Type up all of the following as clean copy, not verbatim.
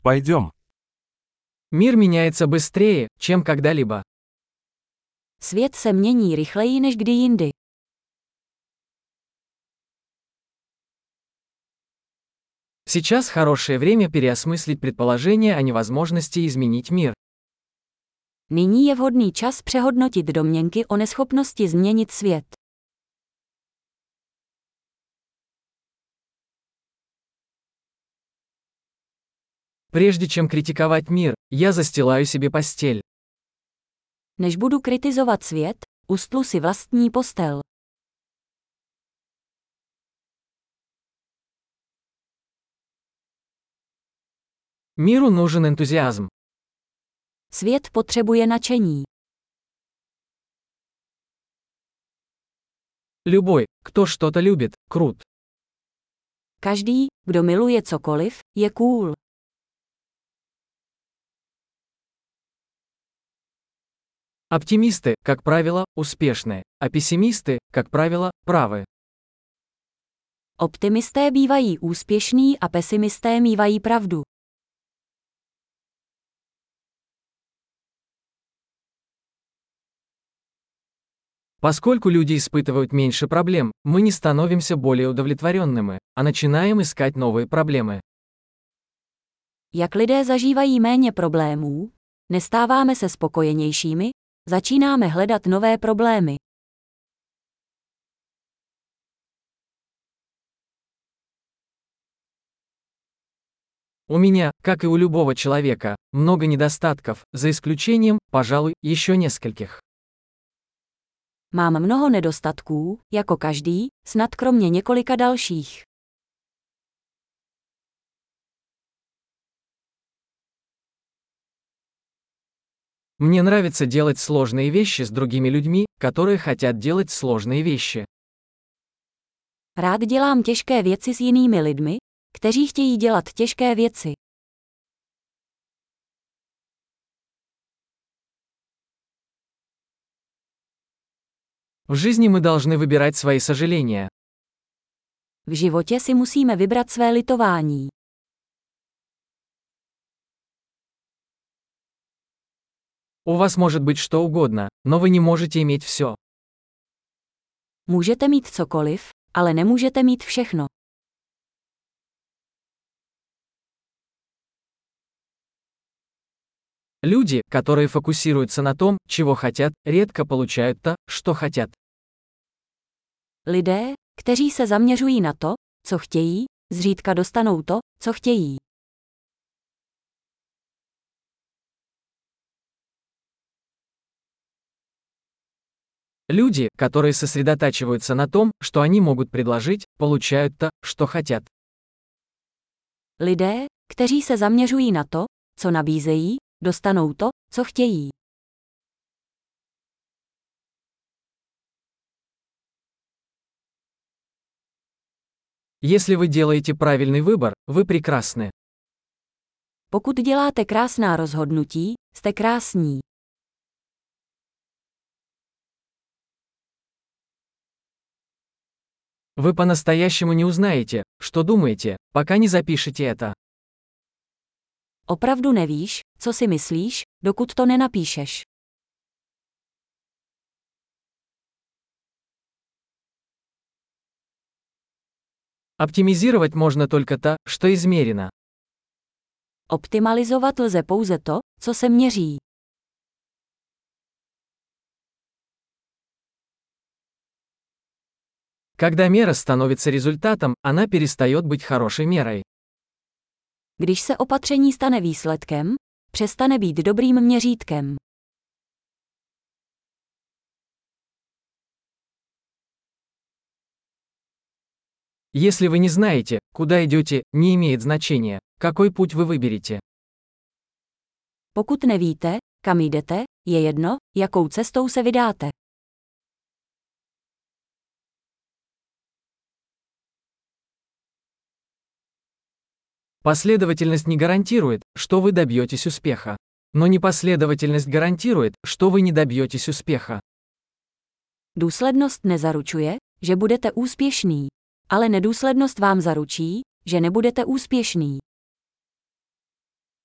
Пойдем. Мир меняется быстрее, чем когда-либо. Svět se mění rychleji než kdy jindy. Сейчас хорошее время переосмыслить предположение о невозможности изменить мир. Nyní je vhodný čas přehodnotit domněnky o neschopnosti změnit svět. Прежде чем критиковать мир, я застилаю себе постель. Než budu kritizovat svět, ustlu si vlastní postel. Миру нужен энтузиазм. Svět potřebuje nadšení. Любой, кто что-то любит, крут. Každý, kdo miluje cokoliv, je cool. Оптимисты, как правило, успешны, а пессимисты, как правило, правы. Optimisté bývají úspěšní a pesimisté mívají pravdu. Поскольку люди испытывают меньше проблем, мы не становимся более удовлетворенными, а начинаем искать новые проблемы. Jak lidé zažívají méně problémů, nestáváme se spokojenějšími, začínáme hledat nové problémy. У меня, как и у любого человека, много недостатков, за исключением, пожалуй, еще нескольких. Mám mnoho nedostatků, jako každý, snad kromě několika dalších. Мне нравится делать сложные вещи с другими людьми, которые хотят делать сложные вещи. Rád dělám těžké věci s jinými lidmi, kteří chtějí dělat těžké věci. В жизни мы должны выбирать свои сожаления. V životě si musíme vybrat své litování. У вас может быть что угодно, но вы не можете иметь все. Můžete mít cokoliv, ale nemůžete mít všechno. Люди, которые фокусируются на том, чего хотят, редко получают то, что хотят. Lidé, kteří se zaměřují na to, co chtějí, zřídka dostanou to, co chtějí. Люди, которые сосредотачиваются на том, что они могут предложить, получают то, что хотят. Lidé, kteří se zaměřují na to, co nabízejí, dostanou to, co chtějí. Если вы делаете правильный выбор, вы прекрасны. Pokud děláte krásná rozhodnutí, jste krásní. Вы по-настоящему не узнаете, что думаете, пока не запишете это. Opravdu nevíš, co si myslíš, dokud to nenapíšeš. Оптимизировать можно только то, что измерено. Optimalizovat lze pouze to, co se měří. Когда мера становится результатом, она перестает быть хорошей мерой. Když se opatření stane výsledkem, přestane být dobrým měřítkem. Если вы не знаете, куда идете, не имеет значения, какой путь вы выберете. Pokud nevíte, kam jdete, je jedno, jakou cestou se vydáte. Последовательность не гарантирует, что вы добьетесь успеха. Но непоследовательность гарантирует, что вы не добьетесь успеха. Důslednost nezaručuje, že budete úspěšný, ale nedůslednost vám zaručí, že nebudete úspěšný.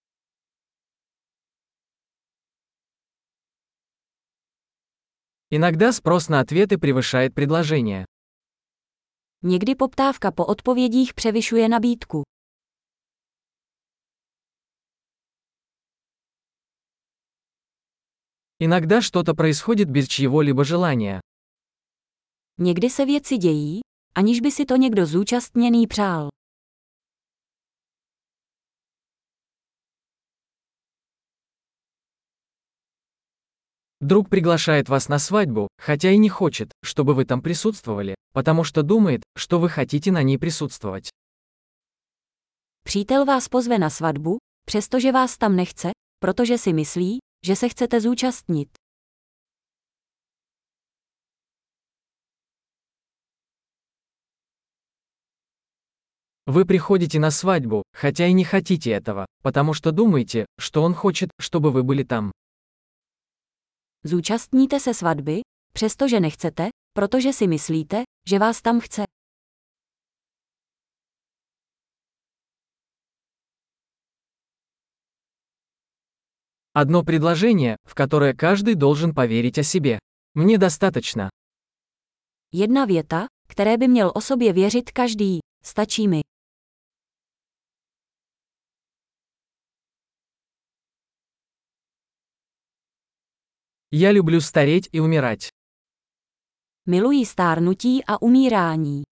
Иногда спрос на ответы превышает предложение. Někdy poptávka po odpovědích převyšuje nabídku. Иногда что-то происходит без чьего-либо желания. Někdy se věci dějí, aniž by si to někdo zúčastněný přál. Друг приглашает вас на свадьбу, хотя и не хочет, чтобы вы там присутствовали, потому что думает, что вы хотите на ней присутствовать. Přítel vás pozve na svatbu, přestože vás tam nechce, protože si myslí, že se chcete zúčastnit. Вы приходите на свадьбу, хотя и не хотите этого, потому что думаете, что он хочет, чтобы вы были там. Zúčastníte se svatby, přestože nechcete, protože si myslíte, že vás tam chce. Одно предложение, в которое каждый должен поверить о себе. Мне достаточно. Jedna věta, které by měl o sobě věřit každý, stačí mi. Я люблю стареть и умирать. Miluji stárnutí a umírání.